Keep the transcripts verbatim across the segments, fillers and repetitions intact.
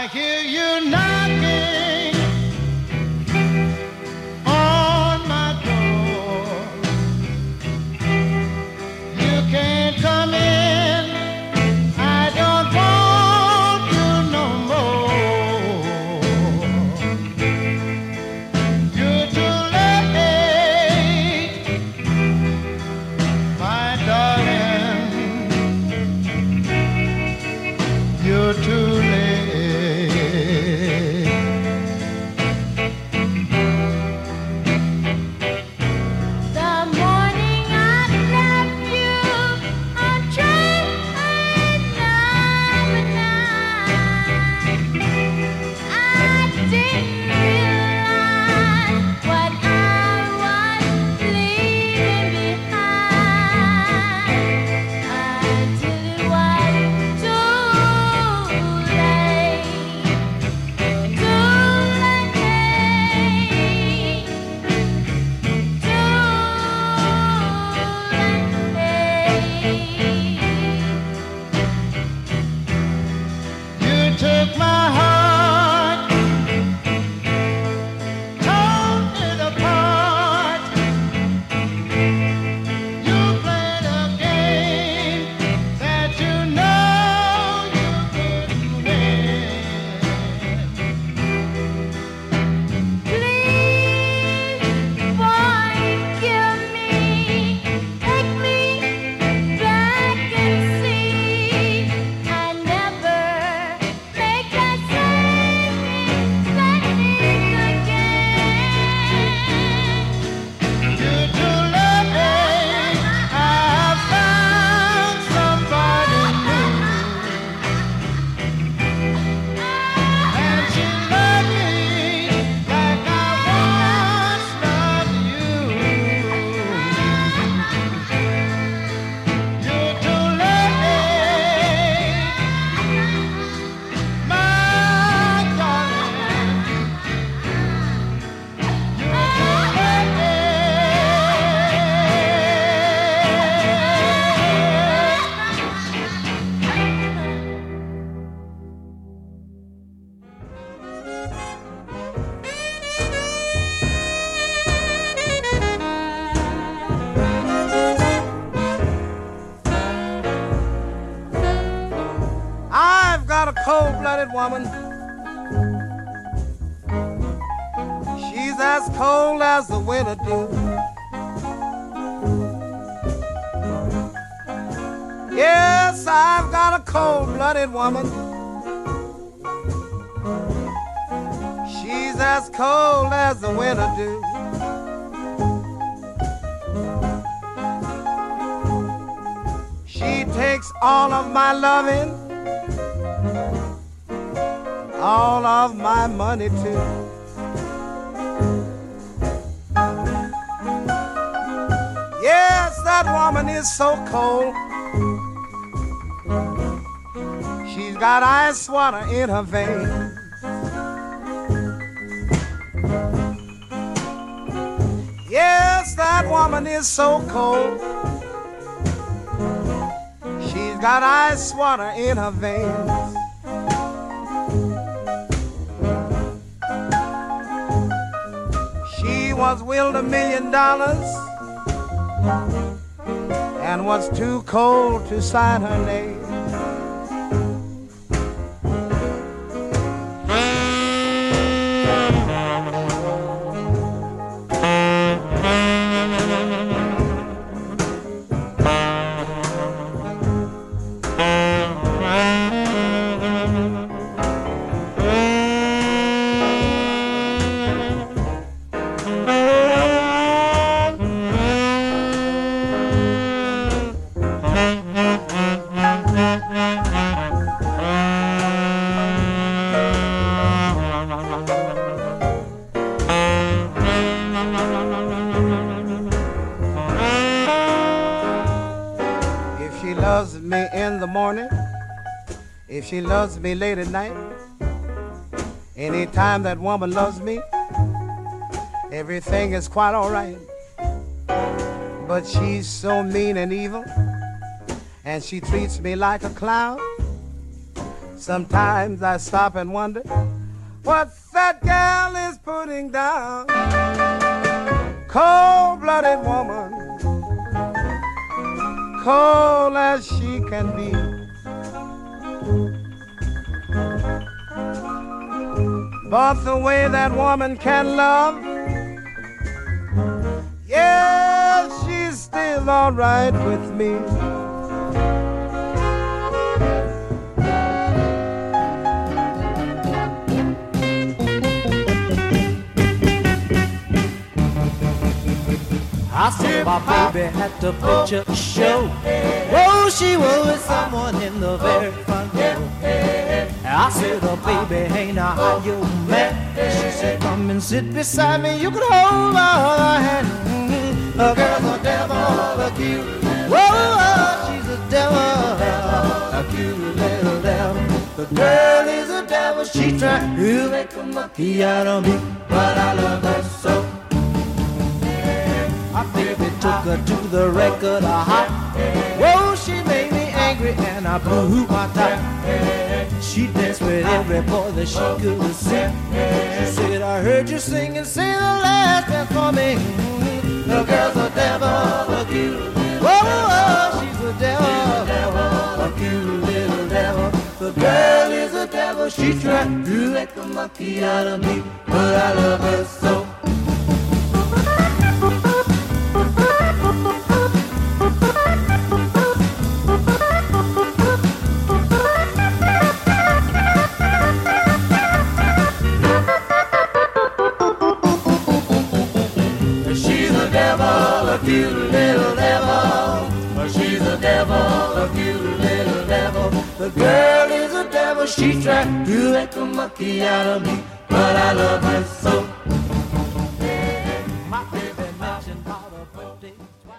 hear you knocking on my door. You can't come in. I don't want you no more. You're too late, my darling. You're too late. Took my heart, torn it apart. You played a game that you know you couldn't win. Please forgive me, take me back and see I never a cold-blooded woman. She's as cold as the winter dew. Yes, I've got a cold-blooded woman. She's as cold as the winter dew. She takes all of my loving, all of my money too. Yes, that woman is so cold. She's got ice water in her veins. Yes, that woman is so cold. She's got ice water in her veins. She was willed a million dollars and was too cold to sign her name. If she loves me late at night, anytime that woman loves me, everything is quite all right. But she's so mean and evil, and she treats me like a clown. Sometimes I stop and wonder what that gal is putting down. Cold-blooded woman, cold as she can be. But the way that woman can love, yeah, she's still all right with me. I saw my baby at the picture show. Oh, she was with someone in the very front row. I said, oh, baby, hey, now how you met? She said, come and sit beside me. You can hold my hand. Mm-hmm. The girl's a devil, a cute. Whoa, oh, she's a devil, a cute little devil. The girl is a devil. She tried to make a monkey out of me, but I love her so. My baby took her to the record hop. Whoa, she made me angry and I blew my top. She danced with every boy that she could see. She said, I heard you sing and say the last dance for me. The girl's a devil, a cute. Whoa, whoa, she's a devil, a cute little devil. The girl is a devil. She tried to make a monkey out of me, but I love her so. A cute little devil, she's a devil, a cute little devil. The girl is a devil, she tried to make a monkey out of me, but I love her so. My baby mentioned all her birthday twice.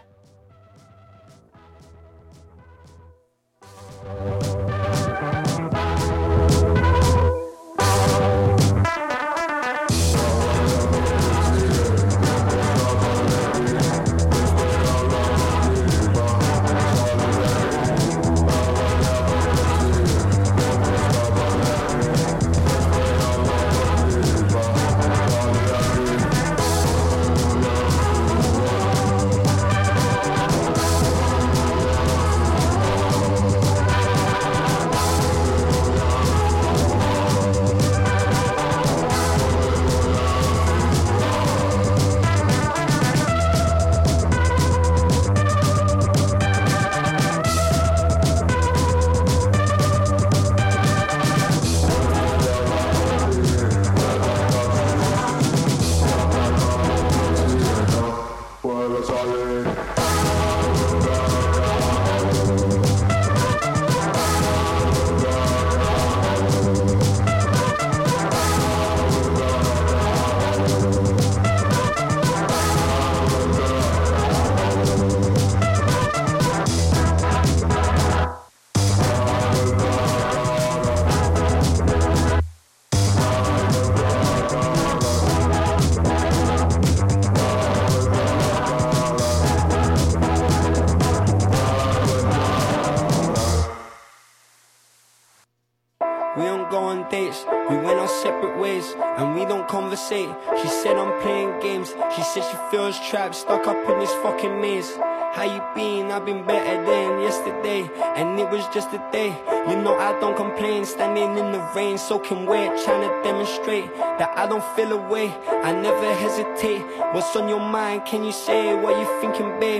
She said I'm playing games. She said she feels trapped, stuck up in this fucking maze. How you been? I've been better than yesterday, and it was just a day. You know I don't complain, standing in the rain, soaking wet, trying to demonstrate that I don't feel away. I never hesitate. What's on your mind? Can you say what you thinking, babe?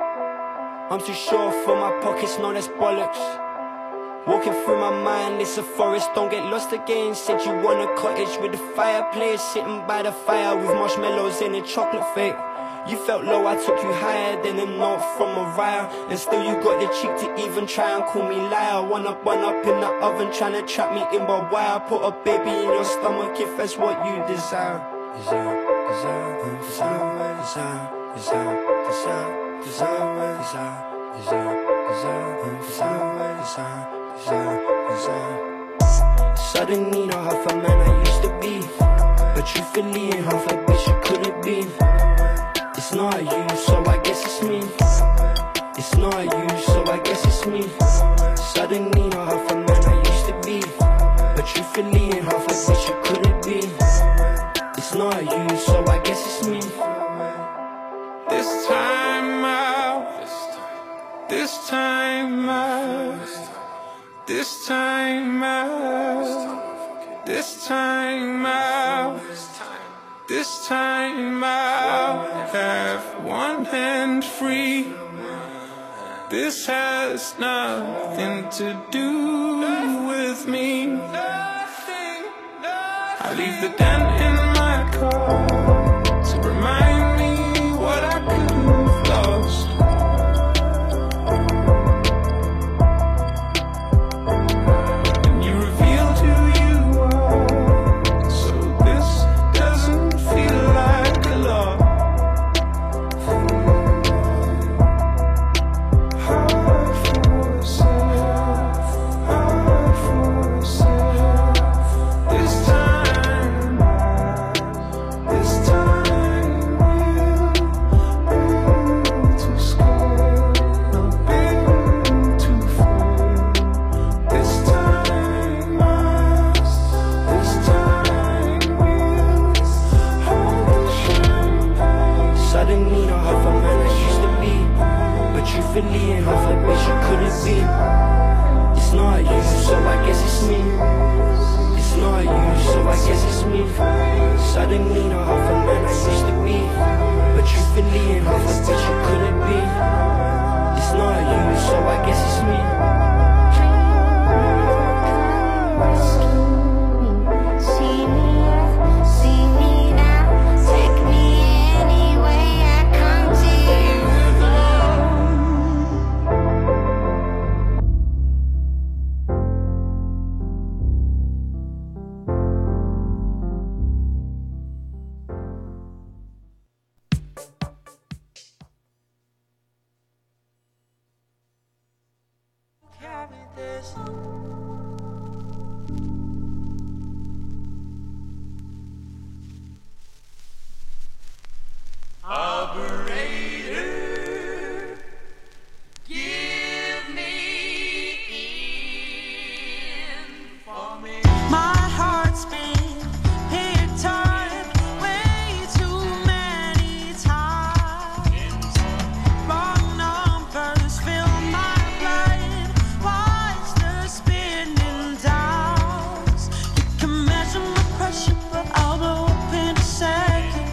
I'm too sure for my pockets, no, that's bollocks. Walking through my mind, it's a forest, don't get lost again. Said you want a cottage with a fireplace, sitting by the fire with marshmallows and a chocolate fake. You felt low, I took you higher than a note from Mariah, and still you got the cheek to even try and call me liar. One up, one up in the oven, trying to trap me in, but why? I put a baby in your stomach if that's what you desire. Desire, desire, desire, desire, desire, desire, desire, desire, desire, desire, desire, desire. Desire, desire. Suddenly not half a man I used to be, but truthfully ain't half a bitch you couldn't be. It's not you, so I guess it's me. It's not you, so I guess it's me. Suddenly not half a man I used to be. This time out, this time out, this time out, this time I'll have one hand free. This has nothing to do with me. I leave the dent in my car to remind me what I could have lost. And you revealed who you are, so this doesn't feel like a lot. Hard for yourself, hard for yourself. This time, this time we'll be too scared, not been too full. This time, this time we'll hold the champagne. Suddenly not half a man I used to be, but truthfully enough I wish you couldn't be. It's not you, so I guess it's me. It's not you, so I guess it's me. Suddenly not half a man I used to be, but truthfully enough I wish you couldn't be. It's not you, so I guess it's me. See me, see me now, take me anyway, I come to you. Carry this. Operator, give me in for me. My heart's been picked up way too many times. Wrong numbers fill my blood. Watch the spinning dials. You can measure my pressure, but I'll blow up in a second.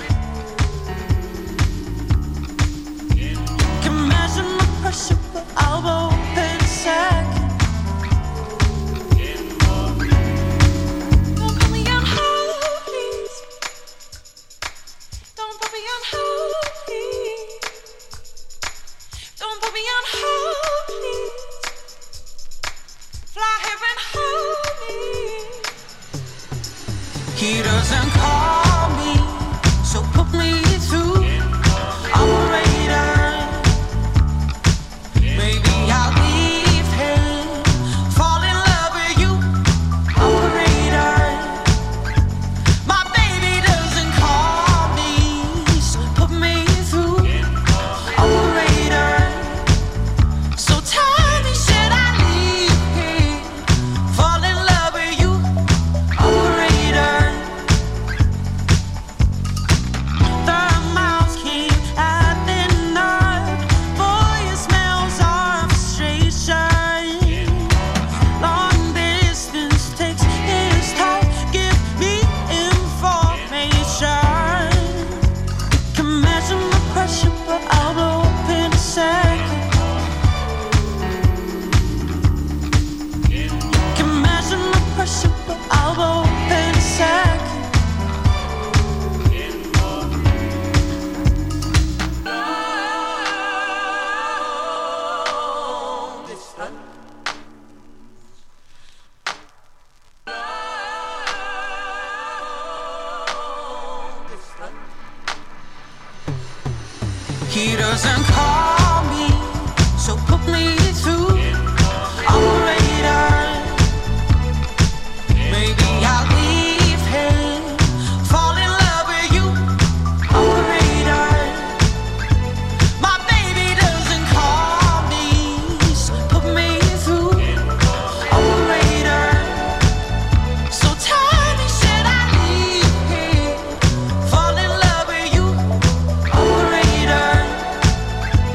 You can measure my pressure, but I'll blow up in a second. Don't put me on hold, please. Don't put me on hold, please. Don't put me on hold, please. Fly here and hold me. He doesn't call me, so put me through. Operator, maybe I'll leave him. Fall in love with you. Operator, my baby doesn't call me, so put me through. Operator, so tell me, should I leave him? Fall in love with you. Operator, the mouse came at the night. Voicemails are frustration. Long distance takes its toll. Give me information. Can measure my pressure, but I'll blow up in a second. Can measure my pressure, but I'll blow up in a second. He doesn't call me, so put me through. Operator, maybe I'll leave him. Fall in love with you. Operator, my baby doesn't call me, so put me through. Operator, so tell me, should I leave him? Fall in love with you. Operator,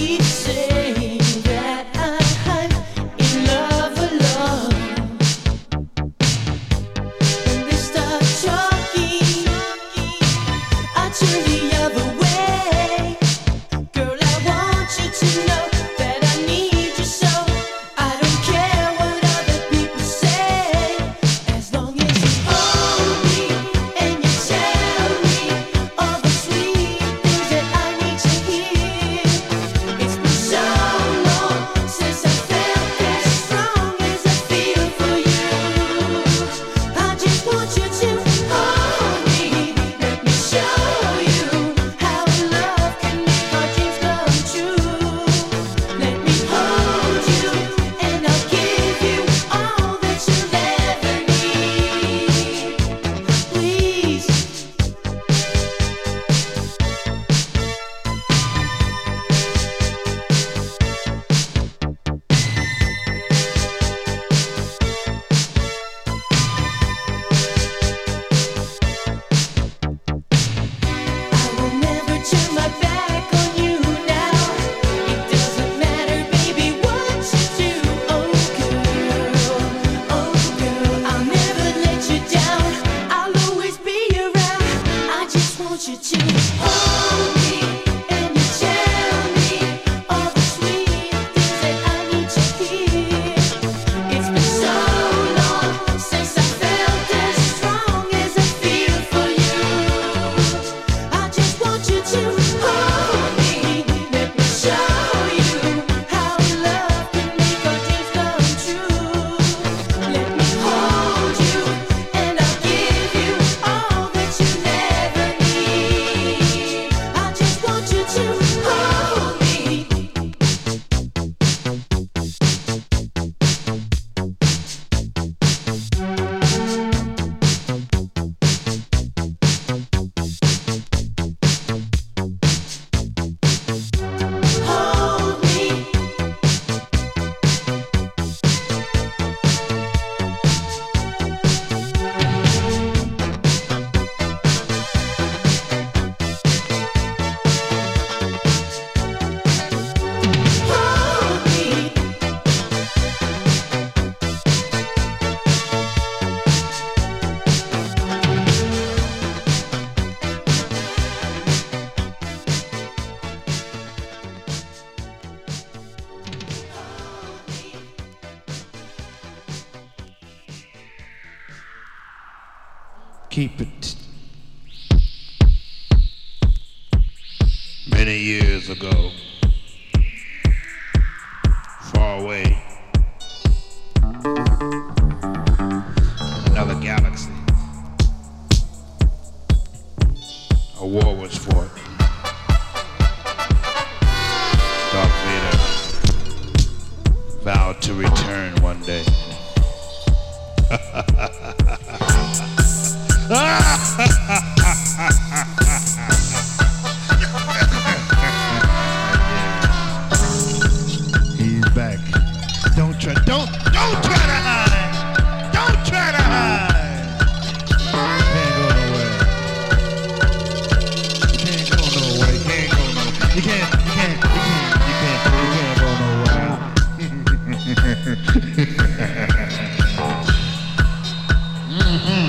keep it. Many years ago, far away, another galaxy, a war was fought. Darth Vader vowed to return one day. He's back. Don't try, don't, don't try to hide. Don't try to hide. Can't go nowhere. Can't go nowhere. You can't go nowhere. You can't, you can't, you can't, you can't, you can't go nowhere. Mm-hmm.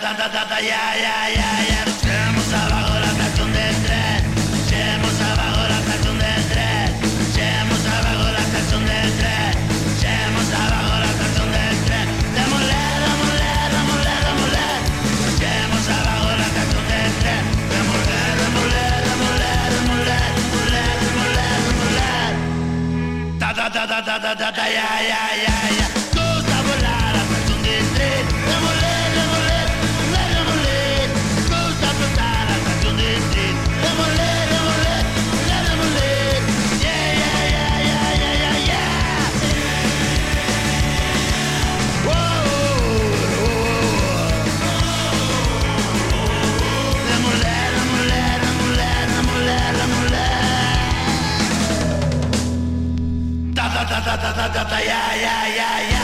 ta ta ta ta ya ya ya ya. Echemos abajo la estación del tren. Echemos abajo la estación del tren. Echemos abajo la estación del tren. Echemos abajo la estación del tren. Démosle, démosle, démosle, démosle. Echemos abajo la estación del tren. Démosle, démosle, démosle, démosle, démosle, démosle, démosle. Ta ta ta ta ta ta ta ta ya ya ya ya. Gusta volar la estación del tren. Démosle, démosle, démosle, démosle. Gusta flotar la estación del tren. Démosle, démosle, démosle, démosle. Yeah, yeah, yeah, yeah, yeah, yeah, yeah. Whoa, démosle, démosle, démosle, démosle, démosle. Ta ta ta ta ta ta ta ta ya ya ya ya.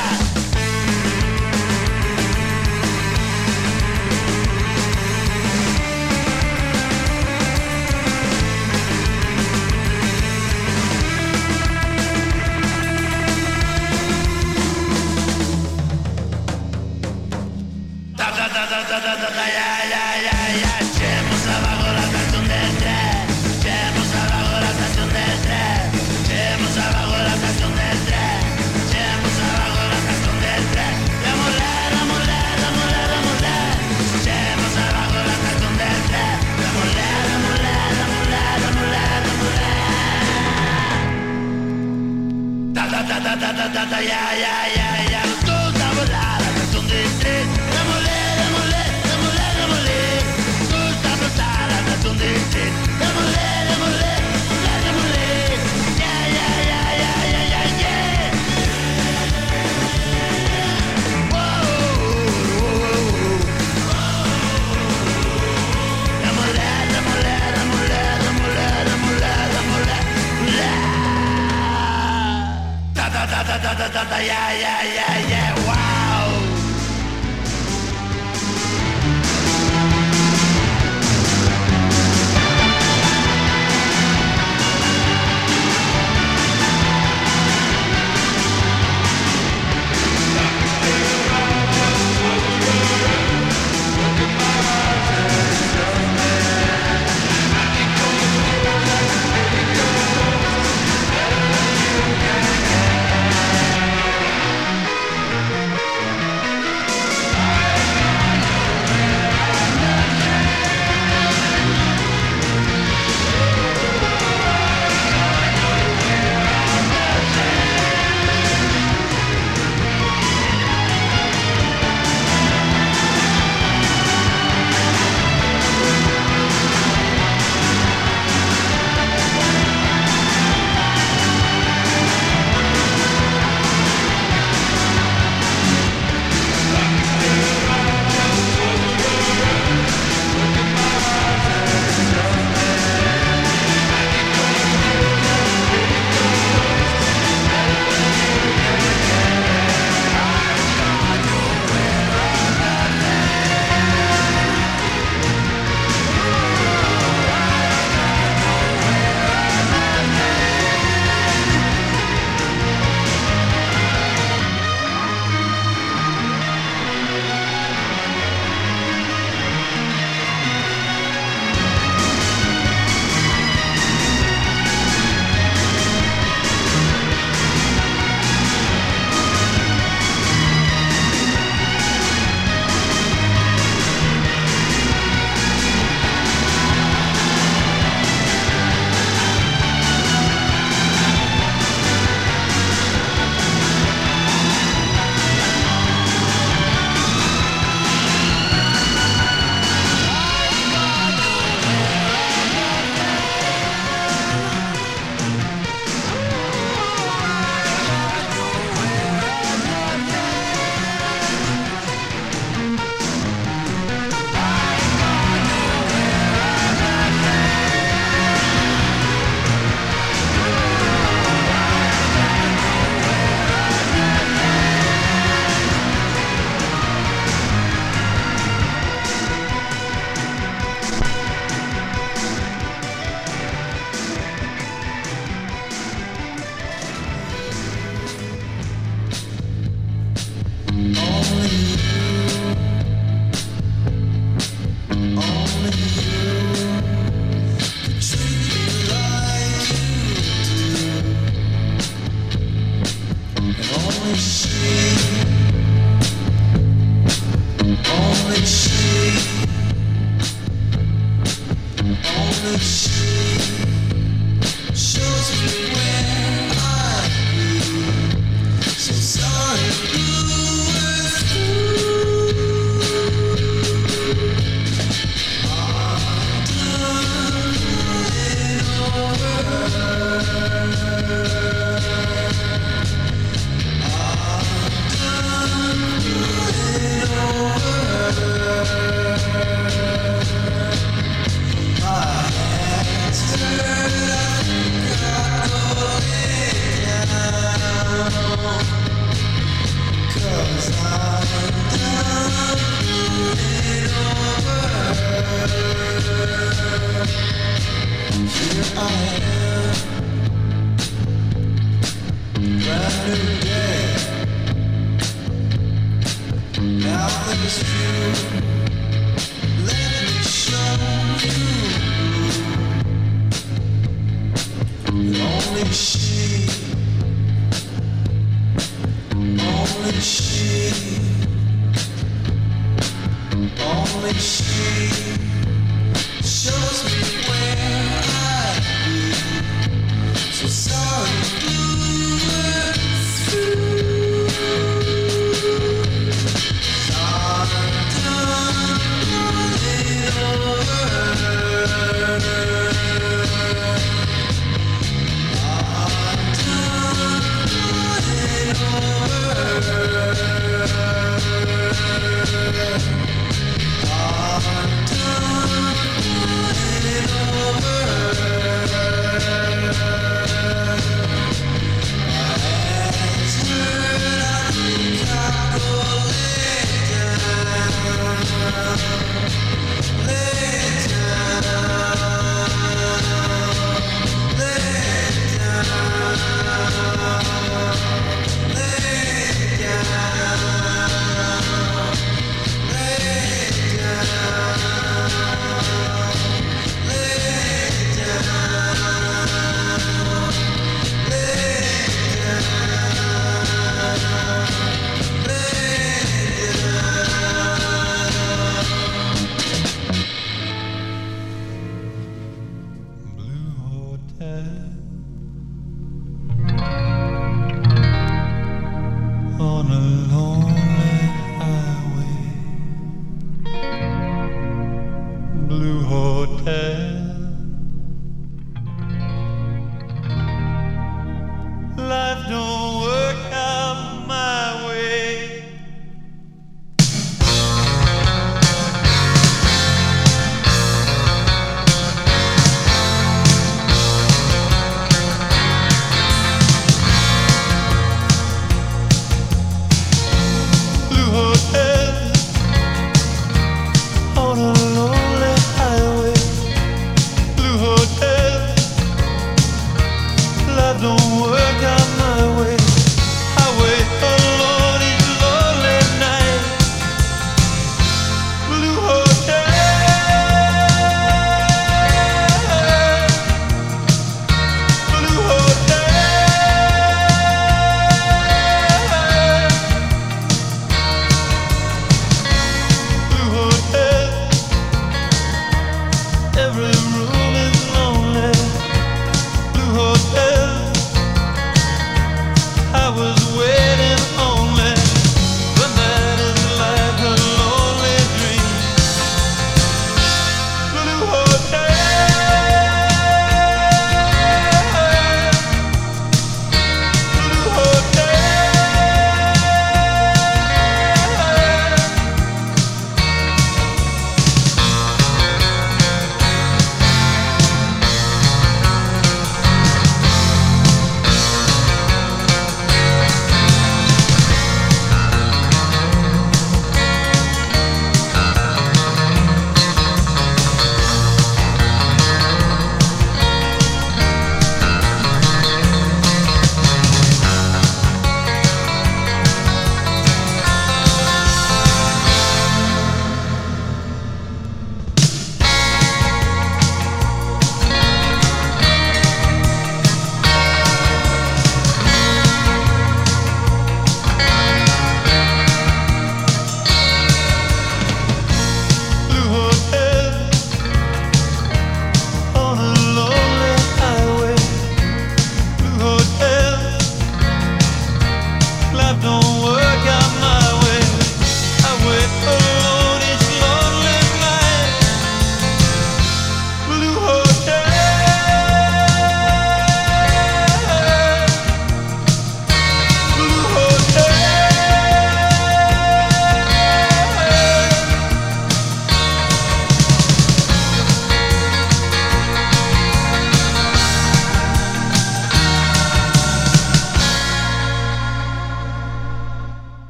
Ta ta ta ta ta ta ta ta ya ya ya ya. Echemos abajo la estación del tren. Echemos abajo la estación del tren. Echemos abajo la estación del tren. Echemos abajo la estación del tren. Démosle, démosle, démosle, démosle. Echemos abajo la estación del tren. Démosle, démosle, démosle, démosle, démosle. Ta ta ta ta ta ta ta ta ya ya ya ya. Nos gusta volar la estación del tren. Démosle, démosle, démosle, démosle. Nos gusta flotar la estación del tren. Démosle, démosle, démosle, démosle. Yeah, yeah, yeah, yeah, yeah, yeah, yeah. Whoa, whoa, whoa. Démosle, démosle, démosle, démosle, démosle, démosle. Ta ta ta ta ta ta ta ta ya ya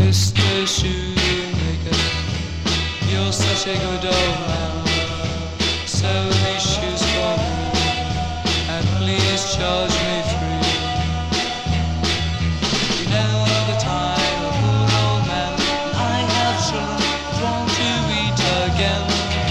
Mister Shoemaker, you're such a good old man. Sew these shoes for me, and please charge me free. You know the time, a poor old man, I have children drawn to eat again.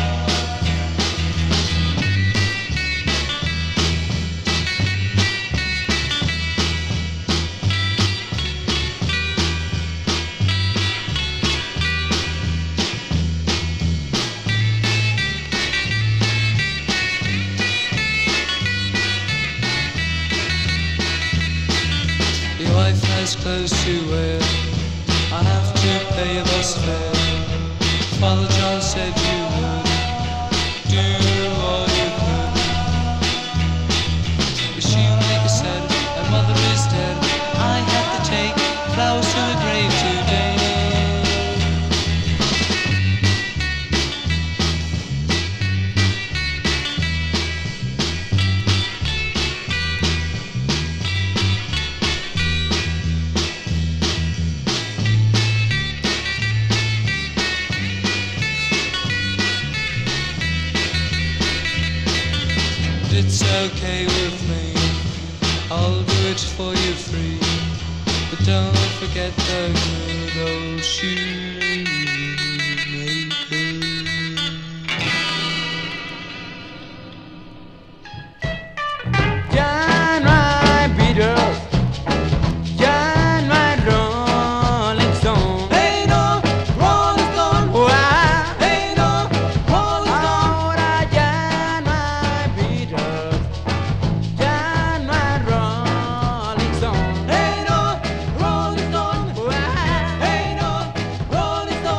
Your wife has clothes to wear, I have to pay a bus fare. Father John said you would do all you could. The shoemaker said, my mother is dead, I have to take flowers to the grave today. It's okay with me, I'll do it for you free. But don't forget the good old shoemaker. John Ryan Peters, John Ryan Rolling Stone. Hey no, Rolling Stone. Why? Hey no, Rolling Stone. Ahora John Ryan Peters, John Ryan Rolling Stone. Hey no, Rolling Stone. Why? Hey no, Rolling Stone.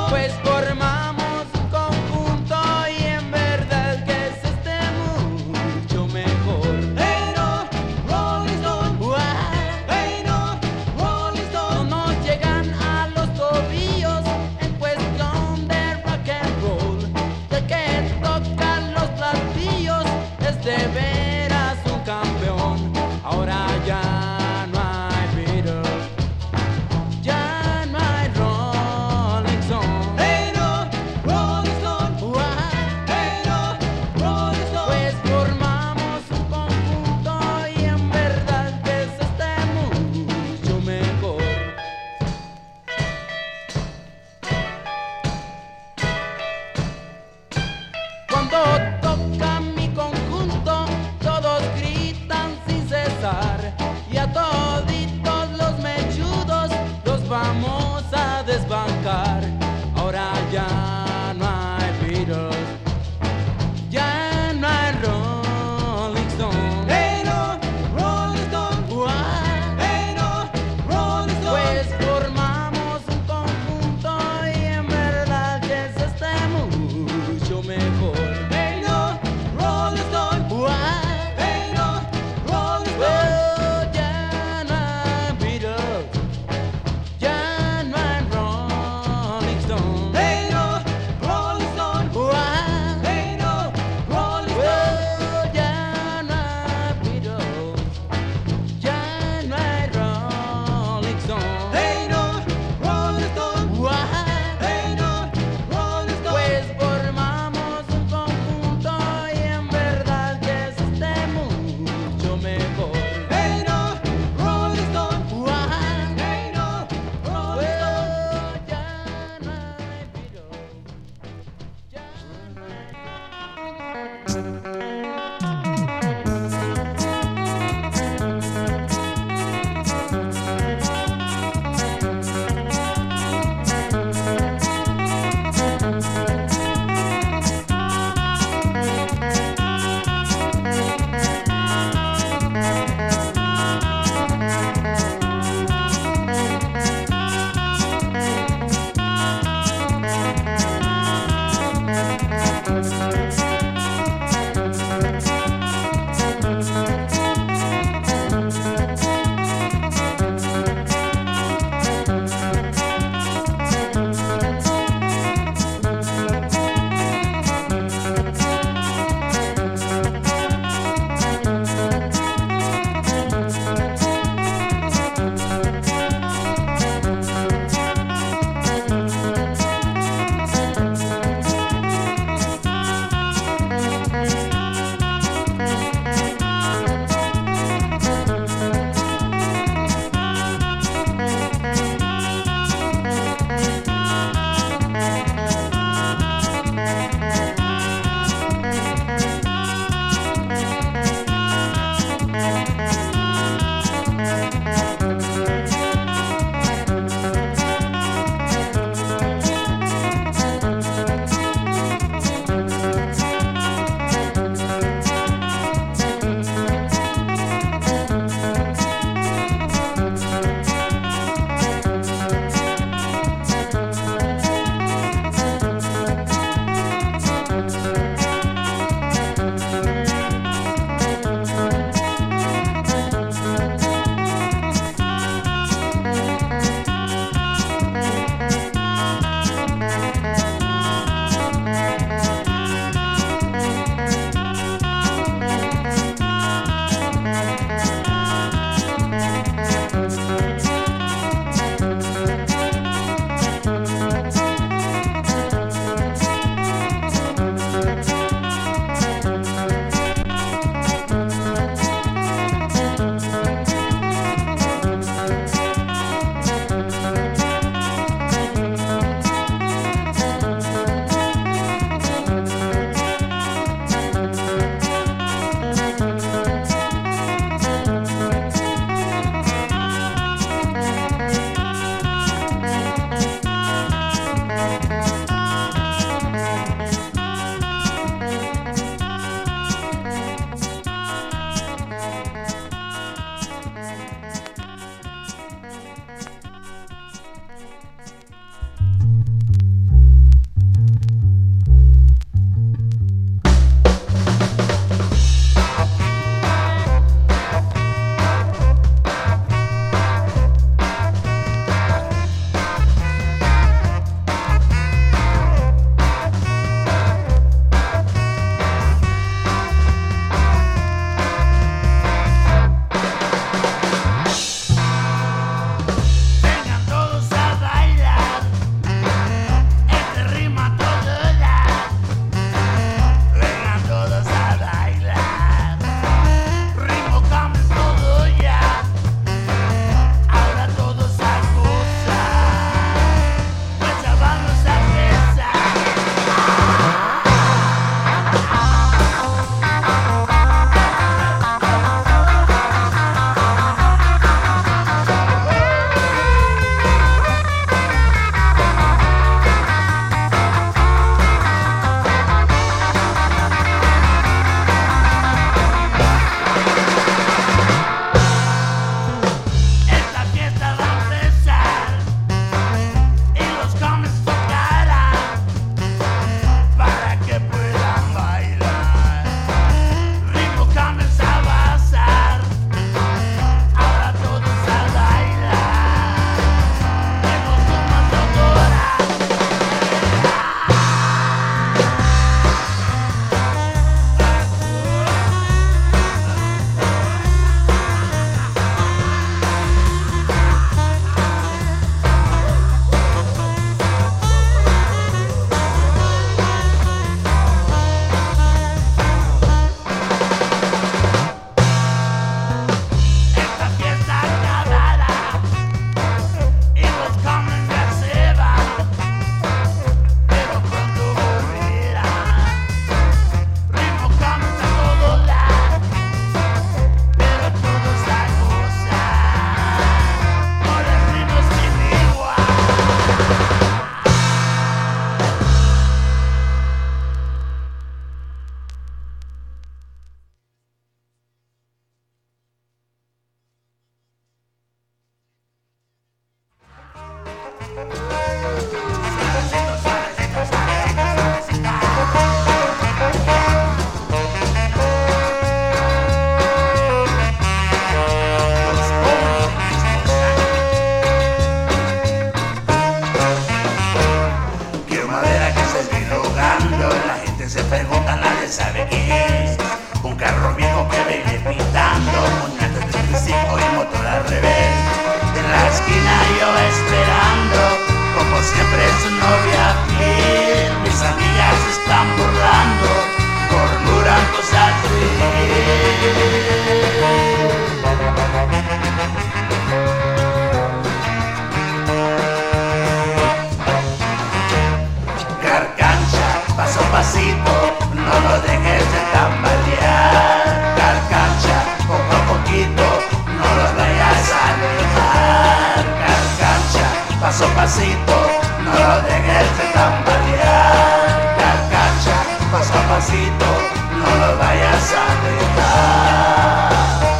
paso a pasito, no lo dejes de tambalear. Carcacha, paso a pasito, no lo vayas a dejar.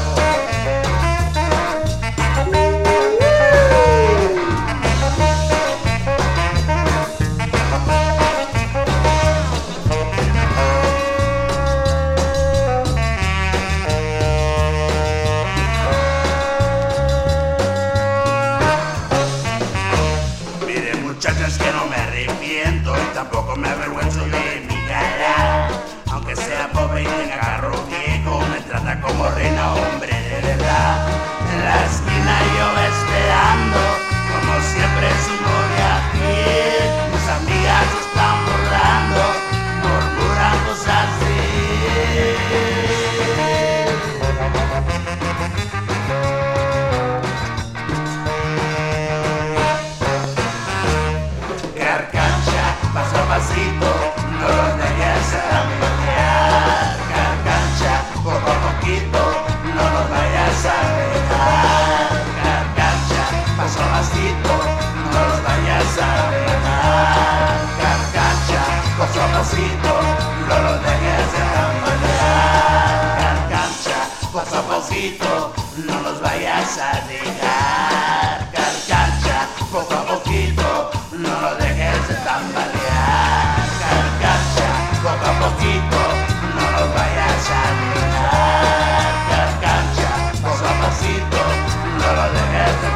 Muchachas, que no me arrepiento y tampoco me avergüenzo de mi cara. Aunque sea pobre y tenga carro viejo, me trata como reina, hombre de verdad. En la esquina yo esperando, como siempre su novia fiel. Mis amigas están burlando, murmuran cosas de él. Paso a pasito, no lo dejes de tambalear. Carcacha, poco a poquito, no lo vayas a dejar. Carcacha, paso a pasito, no lo vayas a dejar. Carcacha, paso a pasito, no lo dejes de tambalear. Carcacha, paso a pasito, no los vayas a dejar. Carcacha, poco a poquito, no lo dejes de tambalear. Poco a poquito, no los vayas a dejar. Carcacha, paso a pasito, no lo dejes de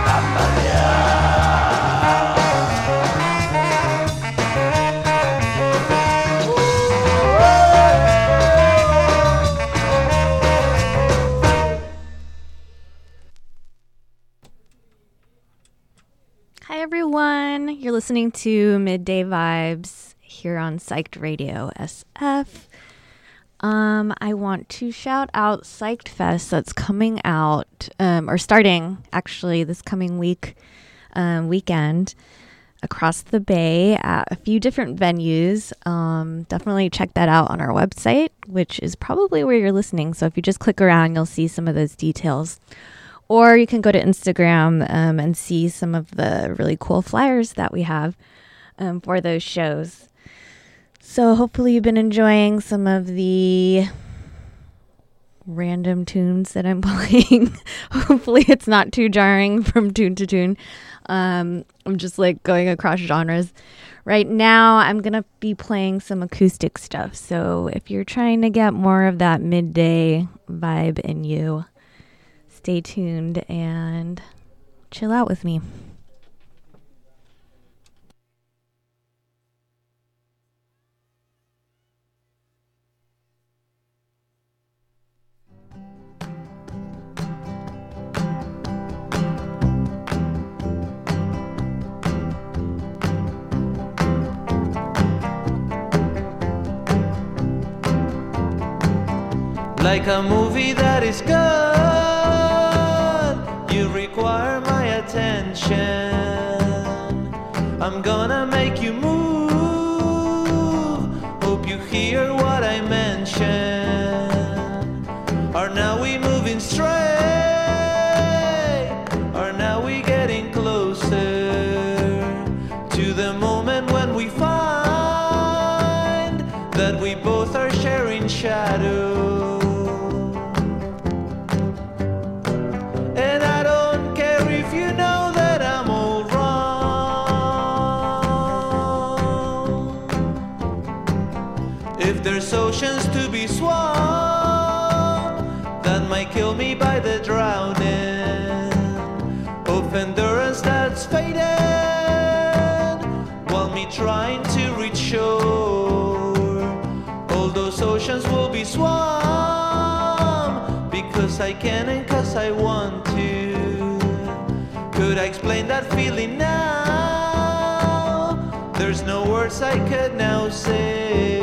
Hi everyone, you're listening to Midday Vibes here on Psyched Radio S F. Um, I want to shout out Psyched Fest that's coming out, um, or starting actually this coming week, um, weekend across the bay at a few different venues. Um, definitely check that out on our website, which is probably where you're listening. So if you just click around, you'll see some of those details. Or you can go to Instagram um, and see some of the really cool flyers that we have um, for those shows. So hopefully you've been enjoying some of the random tunes that I'm playing. Hopefully it's not too jarring from tune to tune. Um, I'm just like going across genres. Right now I'm going to be playing some acoustic stuff. So if you're trying to get more of that midday vibe in you, stay tuned and chill out with me. Like a movie that is good, you require my attention. I'm gonna make you move. Hope you hear what I mention. Are now we moving straight? Are now we getting closer to the moment when we find that we both are sharing shadows? Oceans to be swamped that might kill me by the drowning, of endurance that's faded, while me trying to reach shore. All those oceans will be swamped because I can and cause I want to. Could I explain that feeling now? There's no words I could now say.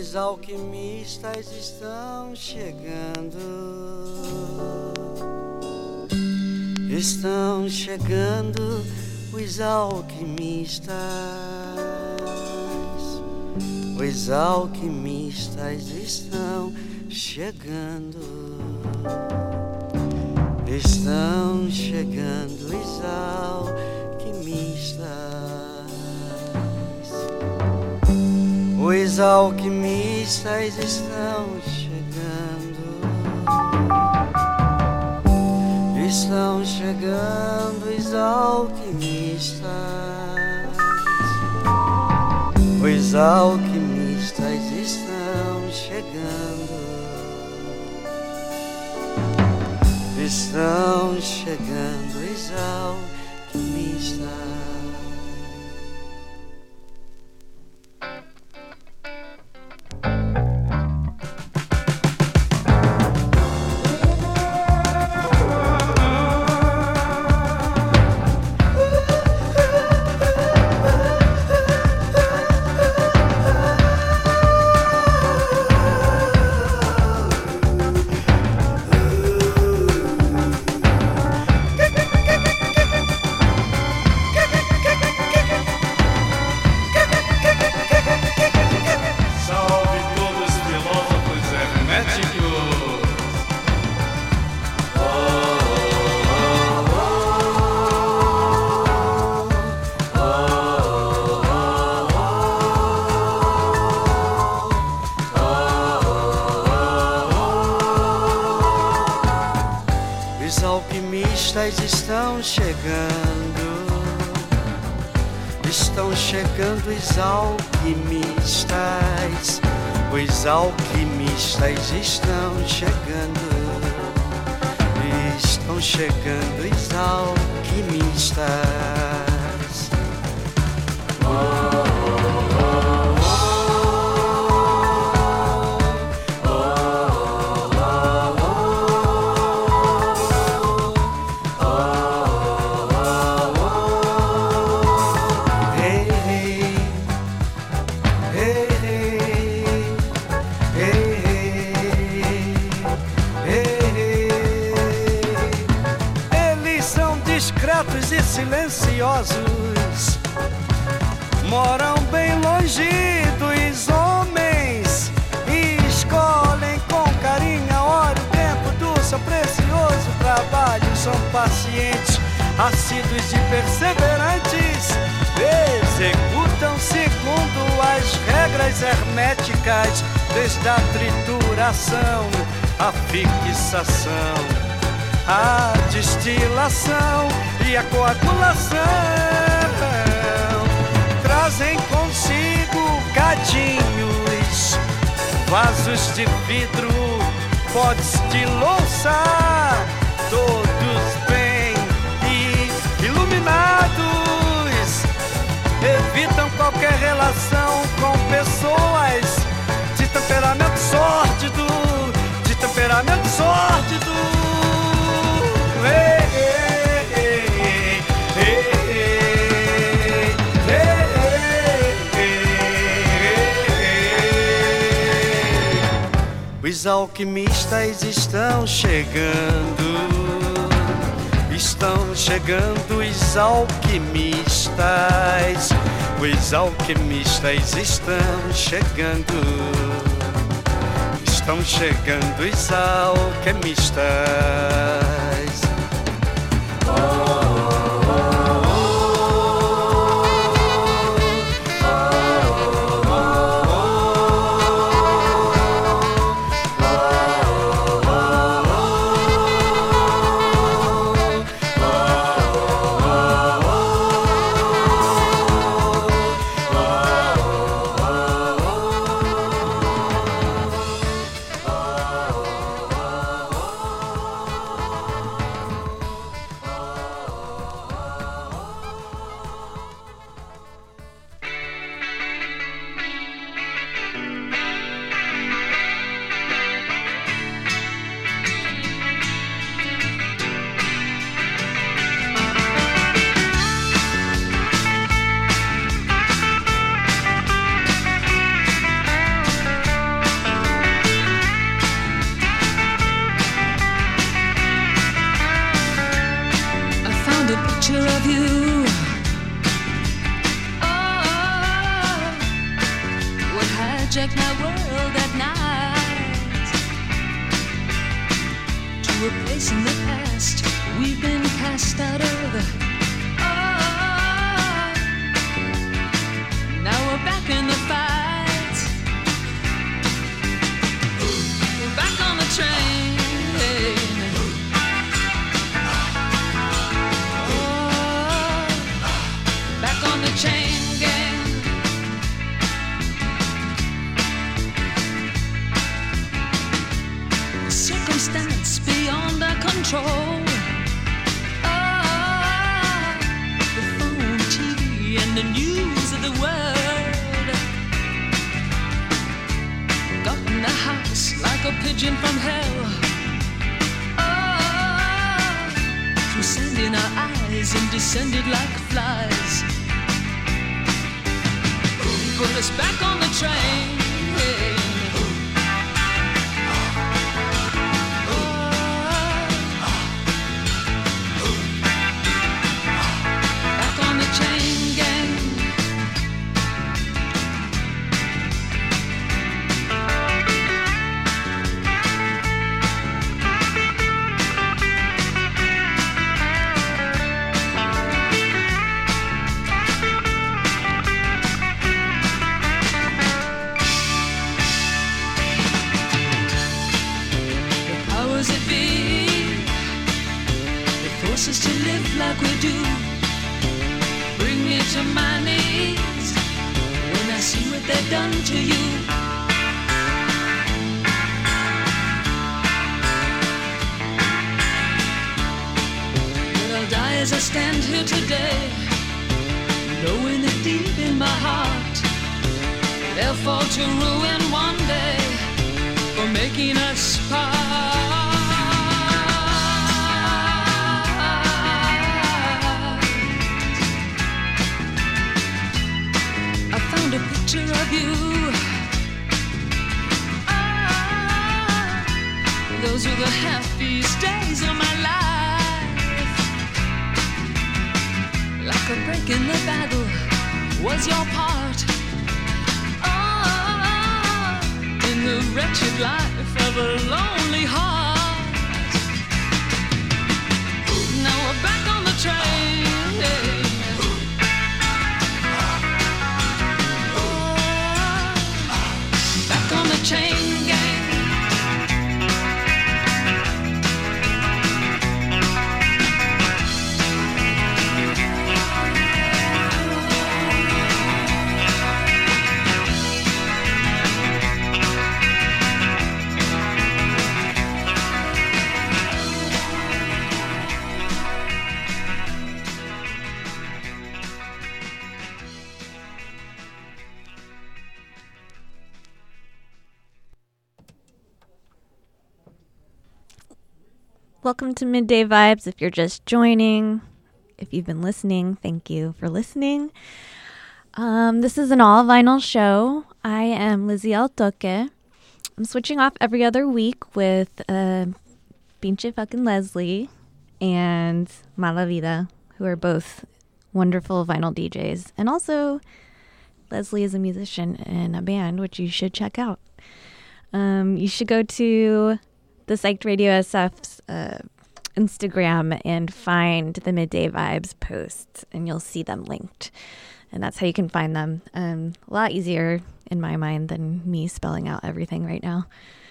Os alquimistas estão chegando, estão chegando os alquimistas, os alquimistas estão chegando, estão chegando os alquimistas. Os alquimistas estão chegando, estão chegando os alquimistas, os alquimistas estão chegando, estão chegando os alquimistas. Estão chegando, estão chegando os alquimistas, os alquimistas estão chegando, estão chegando os alquimistas. Oh. E silenciosos, moram bem longe dos homens e escolhem com carinho a hora e o tempo do seu precioso trabalho. São pacientes, assíduos e perseverantes, executam segundo as regras herméticas, desde a trituração, a fixação, a destilação e a coagulação. Trazem consigo cadinhos, vasos de vidro, potes de louça, todos bem iluminados. Evitam qualquer relação com pessoas de temperamento sórdido, de temperamento sórdido. Ei, ei, ei, os alquimistas estão chegando, estão chegando os alquimistas, os alquimistas estão chegando, estão chegando os alquimistas. place in the past we've been cast out of. Oh, now we're back in the fight. We're back on the train. Oh, back on the chain gang. Circumstance beyond our control. Oh, the phone, T V, and the news of the world got in the house like a pigeon from hell. Oh, through sand in our eyes and descended like flies. Put us back on the train. Hey. Us to live like we do. Bring me to my knees when I see what they've done to you. But I'll die as I stand here today, knowing that deep in my heart they'll fall to ruin one day for making us part. A picture of you. Ah, those were the happiest days of my life. Like a break in the battle was your part. Ah, in the wretched life of a lonely heart. Now we're back on the train. Chain gang. Welcome to Midday Vibes. If you're just joining, if you've been listening, thank you for listening. Um, this is an all vinyl show. I am Lizzie Altoque. I'm switching off every other week with uh, Pinche fucking Leslie and Malavida, who are both wonderful vinyl D Js. And also, Leslie is a musician in a band, which you should check out. Um, you should go to the Psyched Radio S F's uh, Instagram and find the Midday Vibes posts, and you'll see them linked. And that's how you can find them. Um, a lot easier in my mind than me spelling out everything right now.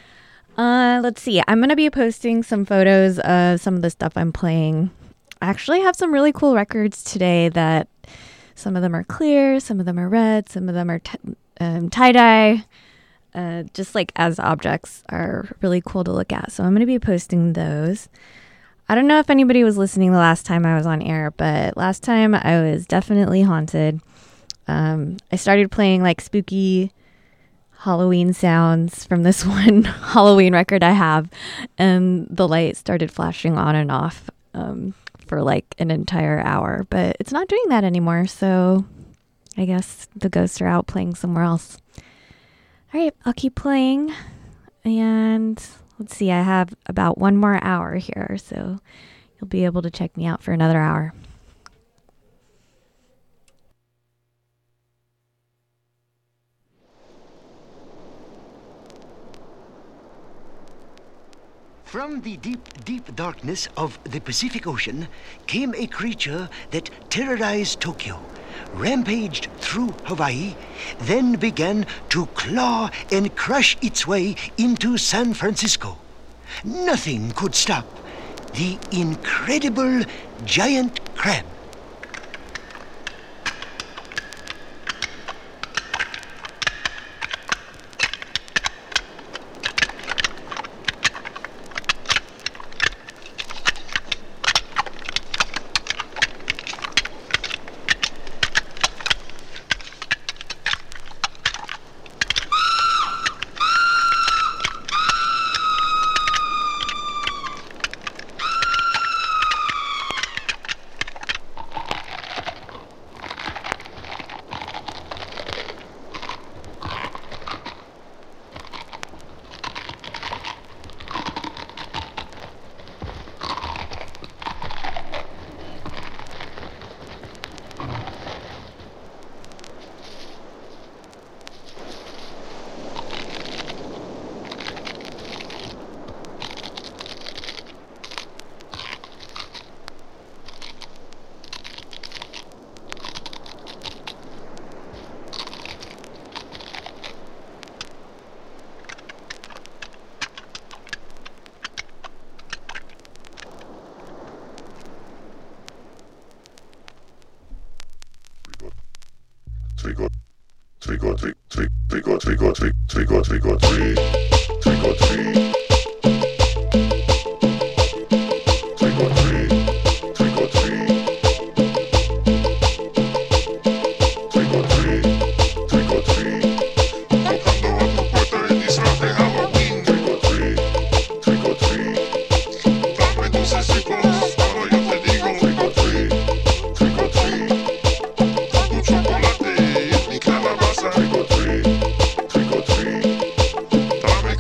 Uh, let's see. I'm going to be posting some photos of some of the stuff I'm playing. I actually have some really cool records today that some of them are clear, some of them are red, some of them are t- um, tie-dye. Uh, just like as objects are really cool to look at. So I'm going to be posting those. I don't know if anybody was listening the last time I was on air, but last time I was definitely haunted. Um, I started playing like spooky Halloween sounds from this one Halloween record I have, and the light started flashing on and off um, for like an entire hour, but it's not doing that anymore. So I guess the ghosts are out playing somewhere else. All right, I'll keep playing, and let's see, I have about one more hour here, so you'll be able to check me out for another hour. From the deep, deep darkness of the Pacific Ocean came a creature that terrorized Tokyo, rampaged through Hawaii, then began to claw and crush its way into San Francisco. Nothing could stop the incredible giant crab. trick or trick or trick trick trick or trick or trick trick or trick or treat trick or treat trick or treat trick or treat trick or treat trick or treat tocando a tu puerta el disfraz de Halloween trick or treat trick or treat dame dulcecitos ahora yo te digo trick or treat trick or treat tu chocolate y mi calabaza trick or treat trick or treat dame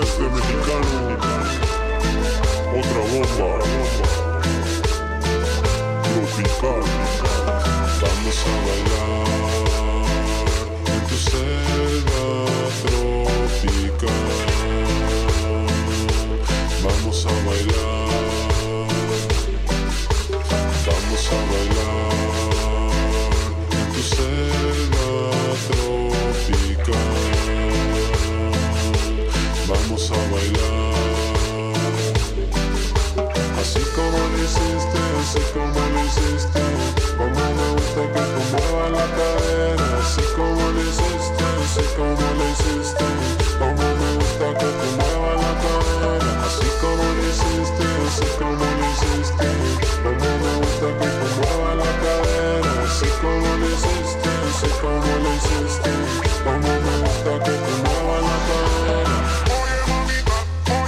este mexicano. Otra bomba tropical. Vamos a bailar en tu selva tropical. Vamos a bailar, vamos a bailar en tu selva tropical. Vamos a bailar, así como lo hiciste, así como lo hiciste. Como me gusta que tú muevas la cadera, así como lo hiciste, así como lo hiciste. Como me gusta que tú muevas la cadera, así como lo hiciste, así como lo hiciste. Como me gusta que tú muevas la cadera, así como lo hiciste, así como lo hiciste. Como me gusta que tú muevas la cadera. Oye mamita,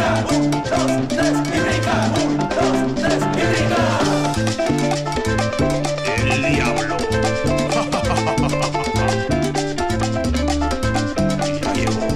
brinca, un, dos, tres, y brinca, un, dos, tres, y brinca. El diablo. Ya llegó.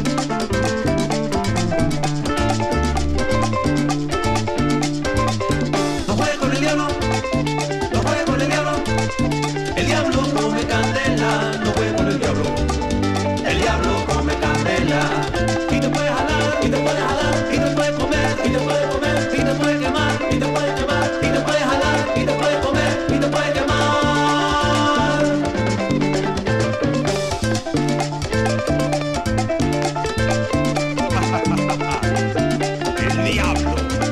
No juegue con el diablo, no juegue con el diablo. El diablo come candela, no juegue con el diablo. El diablo come candela. Y te puede jalar, y te puede jalar, y te puede comer, y te puede comer, y te puede quemar, y te puede quemar, y te puede jalar, y te puede comer, y te puede quemar. El diablo.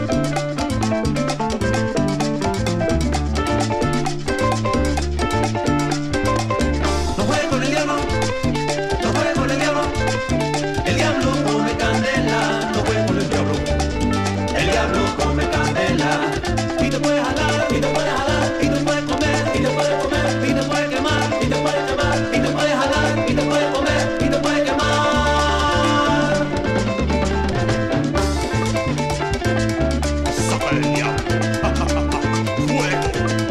No juegue con el diablo, no juegue con el diablo. El diablo come candela, no juegue con el diablo. El diablo come candela. Y te puede jalar, y te puede jalar, y te puede comer, y te puede comer, y te puede quemar, y te puede quemar, y te puede jalar, y te puede comer, y te puede quemar. Saca el diablo. Fuego.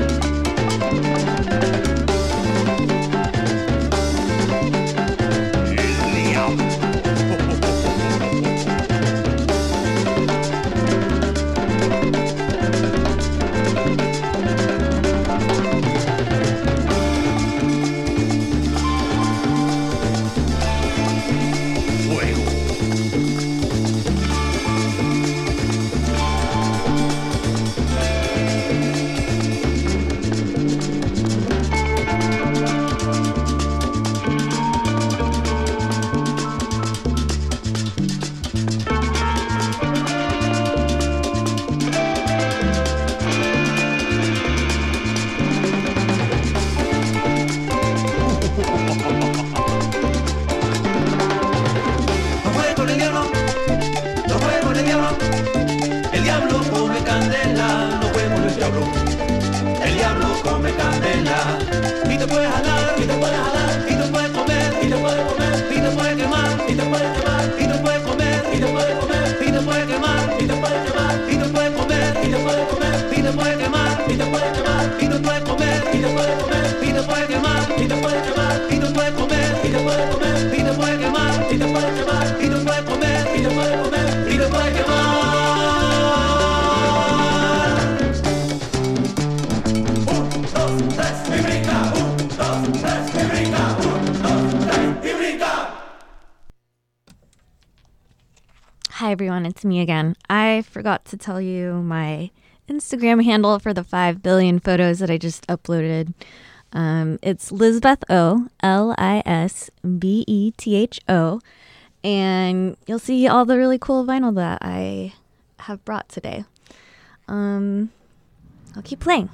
El diablo. Fuego. No juegue con el diablo, no juegue con el diablo. El diablo come candela, no juegue con el diablo. El diablo come candela. Y te puede jalar, y te puede jalar, y te puede comer, y te puede comer, y te puede quemar, y te puede quemar, y te puede comer, y te puede comer, y te puede quemar, y te puede quemar, y te puede comer, y te puede comer, y te puede quemar, y te puede quemar, y te puede comer, y te puede comer, y te puede quemar, y te puede quemar, y te puede comer, y te puede comer, y te puede quemar, y te puede quemar, y te puede comer, y te puede comer, y te puede quemar. Un, dos, tres, y brinca. Un, dos, tres, y brinca. Un, dos, tres, y brinca. Hi everyone, it's me again. I forgot to tell you my Instagram handle for the five billion photos that I just uploaded. Um, it's Lisbeth O, L I S B E T H O, and you'll see all the really cool vinyl that I have brought today. Um, I'll keep playing.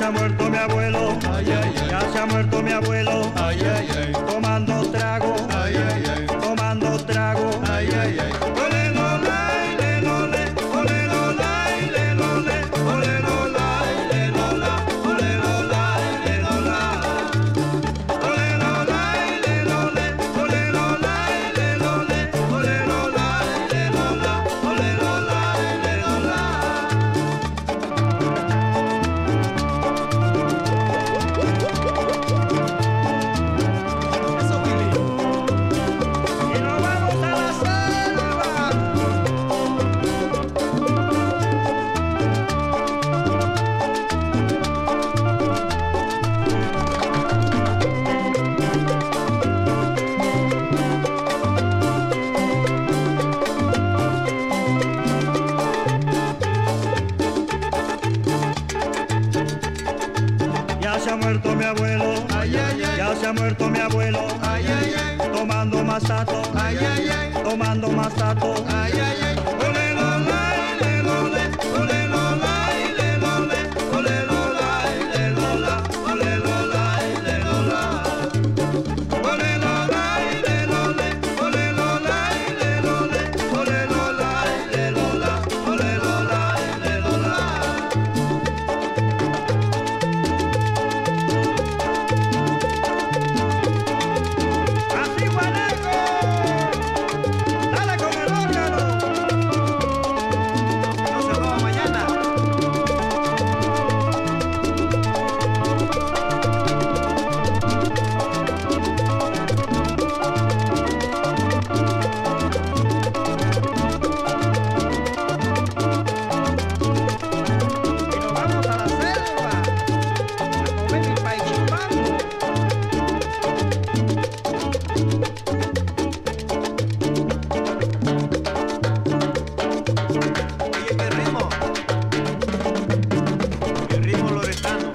se ha muerto mi abuelo, ay, ay, ay. Ya se ha muerto mi abuelo, ay, ay, ay. Tomando trago, ay, ay, ay. Tomando trago, ay, ay, ay. Ole, lola, le, lole, ole, lola, le, lole, ole, lola, le, lola, ole, lola, le, lola. Ole, lola, le, lole, ole, lola, le, lole, ole, lola, le, lola, ole, lola, le, lola. Ya se ha muerto mi abuelo, ay, ay, ay. Ya se ha muerto mi abuelo, ay, ay, ay. Tomando masato, ay, ay, ay. Tomando masato, ay, ay, ay. Ole, lola, le, lole, ole, lola, le, lole, ole, lola, le, lola, ole, lola, le, lola. Ole, lola, le, lole, ole, lola, le, lole, ole, lola, le, lola, ole, lola, le, lola. Así, Guanaco, dale con el órgano. No se roba mañana. Y nos vamos a la selva a comer mi paichipambo. Oye, qué ritmo, qué ritmo loretano.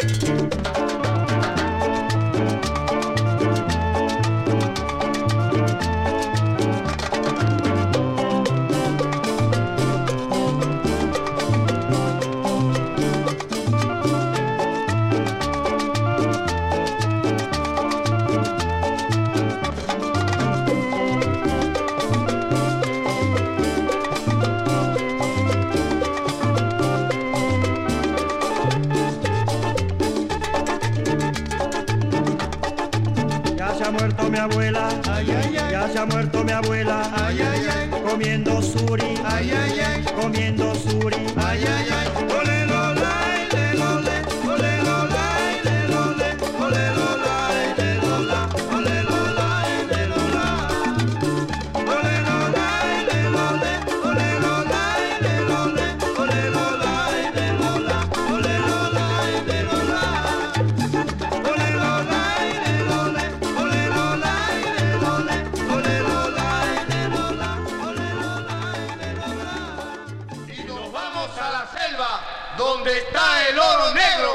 Ya se ha muerto mi abuela, ay, ay, ay. Ya se ha muerto mi abuela, ay, ay, ay. Comiendo suri, ay, ay, ay. Comiendo suri, ay, ay, ay. Ole, lola, le, lole, ole, lola, le, lole, ole, lola, le, lola, ole, lola, le, lola. Ole, lola, le, lole, ole, lola, le, lole, ole, lola, le, lola, ole, lola, le, lola. Ole, lola, le, lole, ole, lola, le, lole, ole, lola, le, lola, ole, lola, le, lola. Y nos vamos a la selva, donde está el oro negro.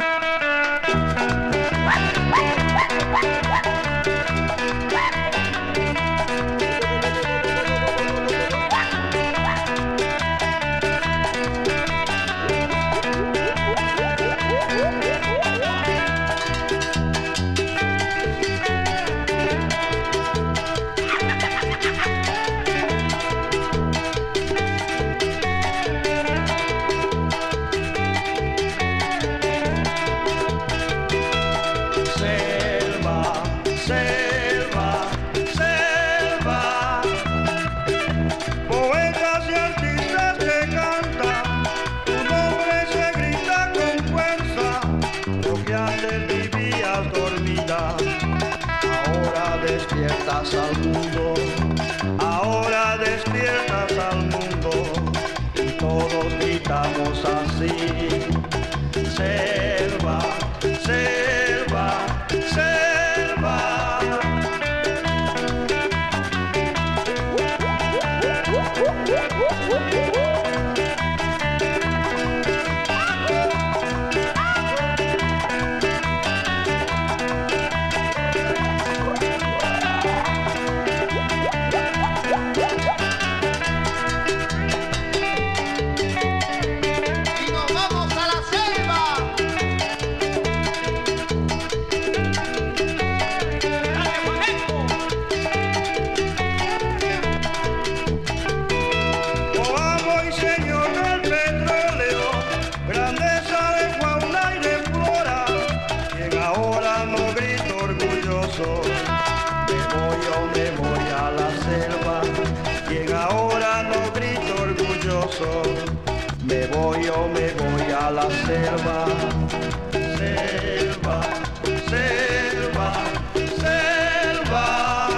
Selva, selva, selva. Poetas y artistas se cantan, tu nombre se grita con fuerza. Lo que antes vivías dormida, ahora despiertas al mundo. Ahora despiertas al mundo y todos gritamos así. Selva, selva, selva. Y nos vamos a la selva. soy señor del petróleo, grandeza de fauna y de flora, quien ahora no grito orgulloso, me voy o me voy a la selva, quien ahora no grito orgulloso, me voy o me voy a la selva, selva, selva, selva.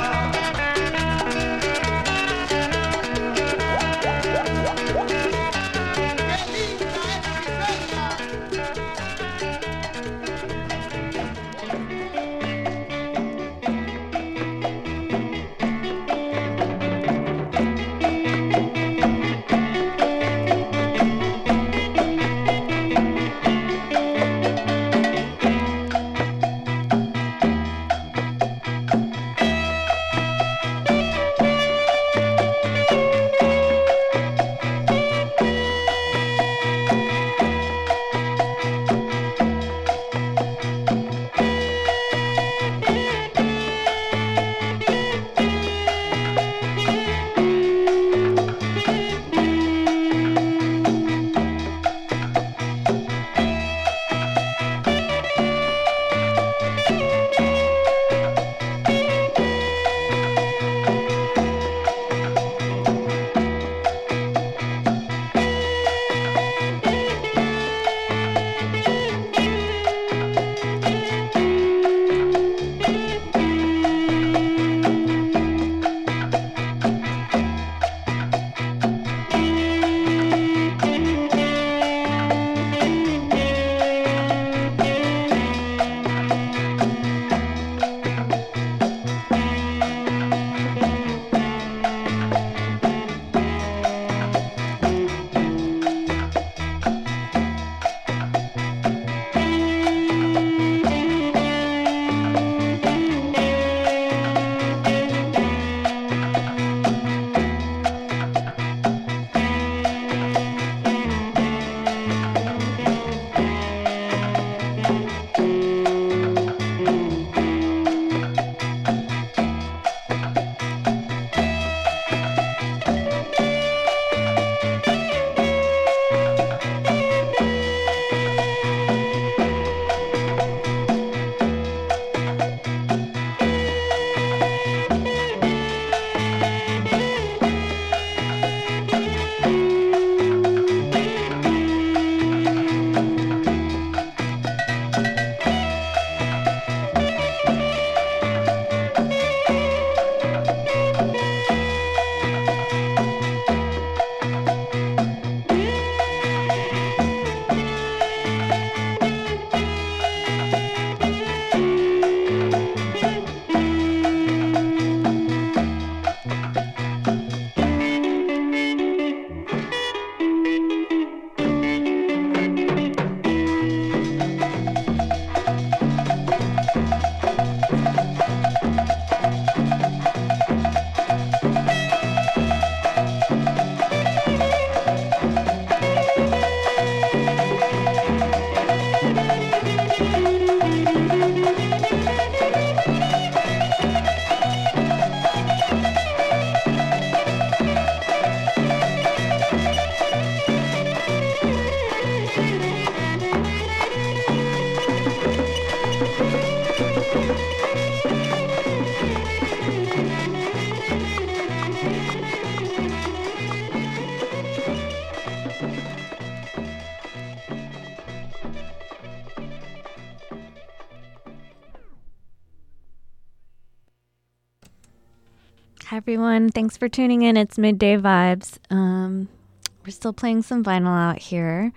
Hi, everyone. Thanks for tuning in. It's Midday Vibes. Um, we're still playing some vinyl out here.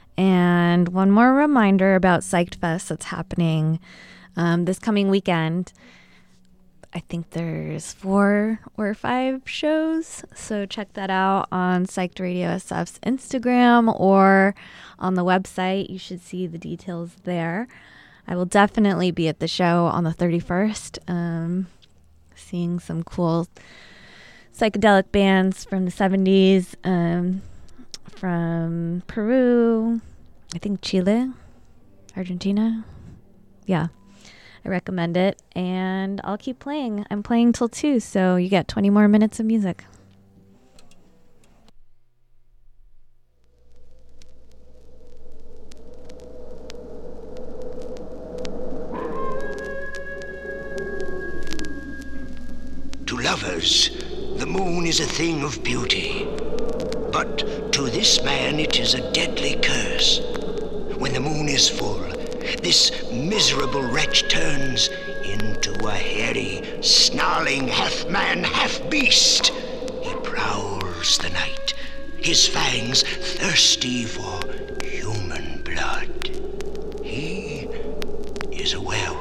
And one more reminder about Psyched Fest that's happening um, this coming weekend. I think there's four or five shows. So check that out on Psyched Radio S F's Instagram or on the website. You should see the details there. I will definitely be at the show on the thirty-first. Um, seeing some cool psychedelic bands from the seventies, um, from Peru, I think Chile, Argentina. Yeah, I recommend it. And I'll keep playing. I'm playing till two, so you get twenty more minutes of music. others, the moon is a thing of beauty. But to this man it is a deadly curse. When the moon is full, this miserable wretch turns into a hairy, snarling half-man, half-beast. He prowls the night, his fangs thirsty for human blood. He is a werewolf.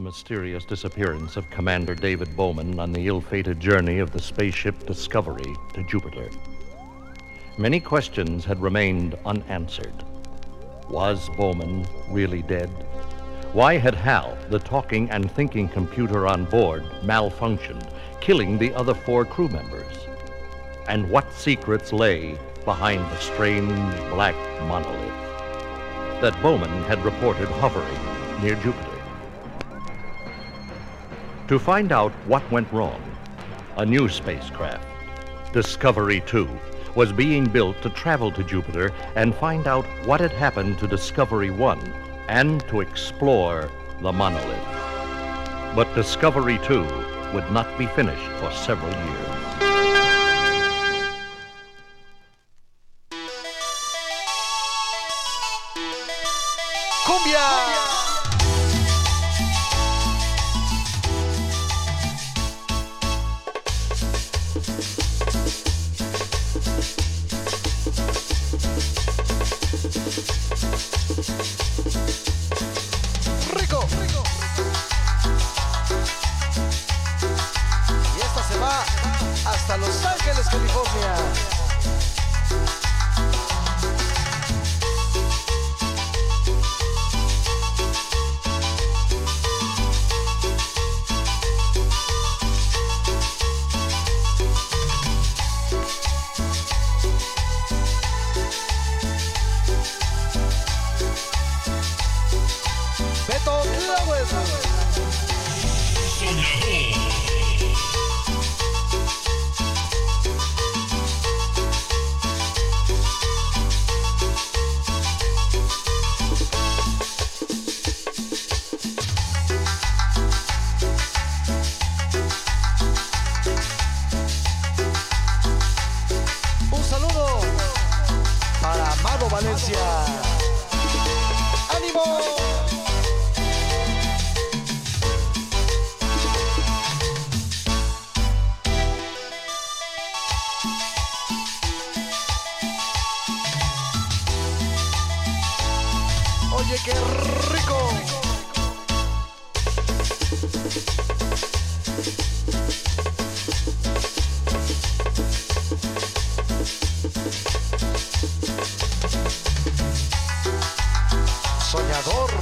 mysterious disappearance of Commander David Bowman on the ill-fated journey of the spaceship Discovery to Jupiter. Many questions had remained unanswered. Was Bowman really dead? Why had Hal, the talking and thinking computer on board, malfunctioned, killing the other four crew members? And what secrets lay behind the strange black monolith that Bowman had reported hovering near Jupiter? To find out what went wrong, a new spacecraft, Discovery two, was being built to travel to Jupiter and find out what had happened to Discovery one and to explore the monolith. But Discovery two would not be finished for several years. ¡Cumbia! Rico, rico. Y esta se va hasta Los Ángeles, California. Beto Lewis. Un saludo para Amado Valencia. ¡Ánimo! Oye, qué rico. Soñador.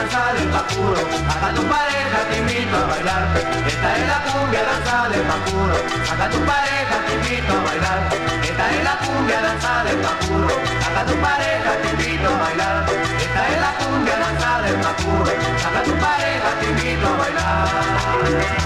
danza del pacuro, saca tu pareja, te invito a bailar. Esta es la cumbia, danza del pacuro, saca tu pareja, te invito a bailar. Esta es la cumbia, danza del pacuro, saca tu pareja, te invito a bailar. Esta es la cumbia, danza del pacuro, saca tu pareja, te invito a bailar.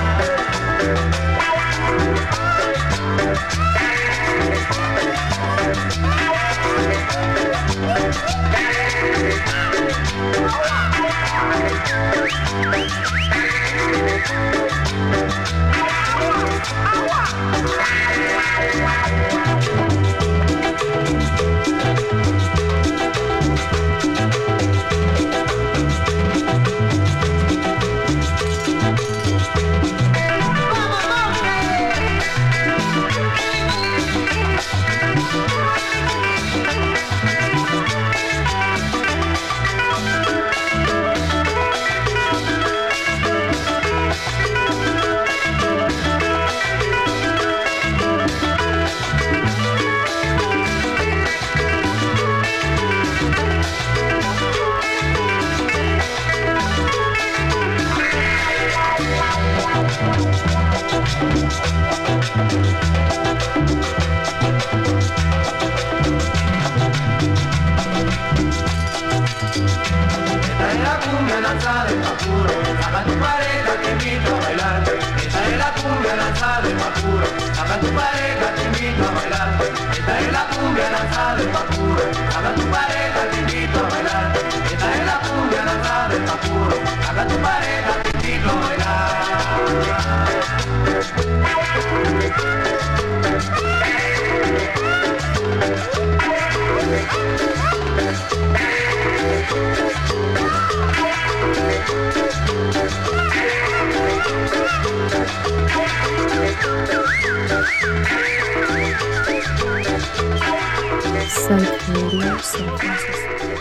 Psych Radio San Francisco.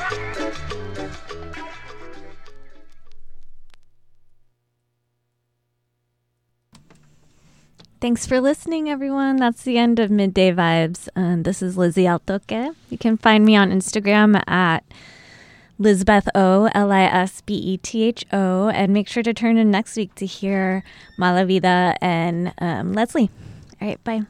Thanks for listening, everyone. That's the end of Midday Vibes. And this is Lizzie Altoque. You can find me on Instagram at Lisbeth O, L I S B E T H O. And make sure to turn in next week to hear Mala Vida and um, Leslie. All right, bye.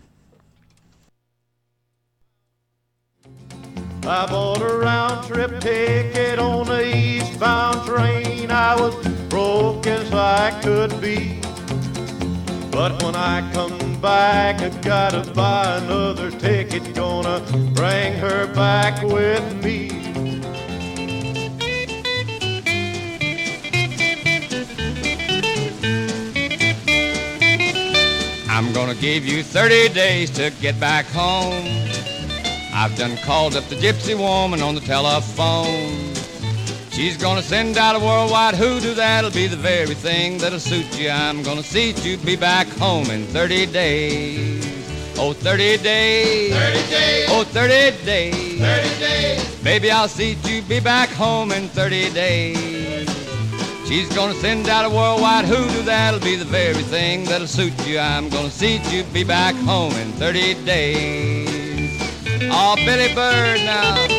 I bought a round-trip ticket on the eastbound train. I was broke as I could be. But when I come back, I gotta buy another ticket. Gonna bring her back with me. I'm gonna give you thirty days to get back home. I've done called up the gypsy woman on the telephone. She's gonna send out a worldwide hoodoo that'll be the very thing that'll suit you. I'm gonna see you be back home in thirty days. Oh, thirty days. thirty days. Oh, thirty days. thirty days. Baby, I'll see you be back home in thirty days. She's gonna send out a worldwide hoodoo that'll be the very thing that'll suit you. I'm gonna see you be back home in thirty days. Oh, Billy Bird now.